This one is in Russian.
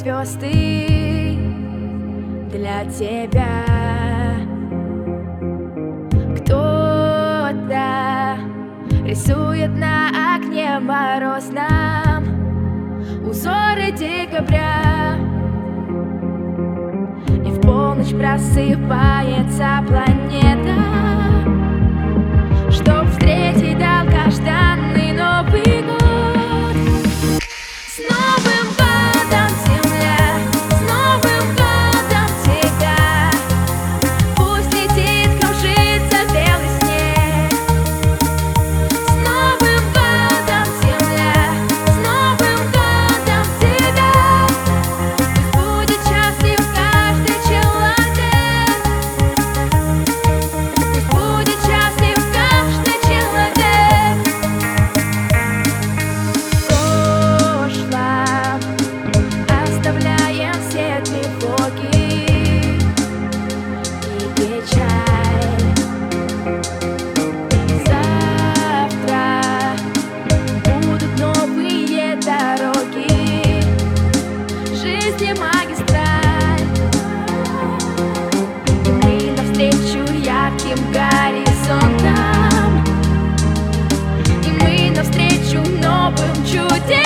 звезды для тебя. Кто-то рисует на окне морозном узоры декабря, и в полночь просыпается планета, чтоб встретить долгожданный Новый год. С Новым годом, Земля! С Новым годом тебя! Пусть летит, кружится белый снег. С Новым годом, Земля! С Новым годом тебя! Пусть будет счастлив каждый человек. Пусть будет счастлив каждый человек. Оставляем все тревоги и печаль. Завтра будут новые дороги, жизни магистраль. И навстречу ярким горизонтам, и мы навстречу новым чудесам.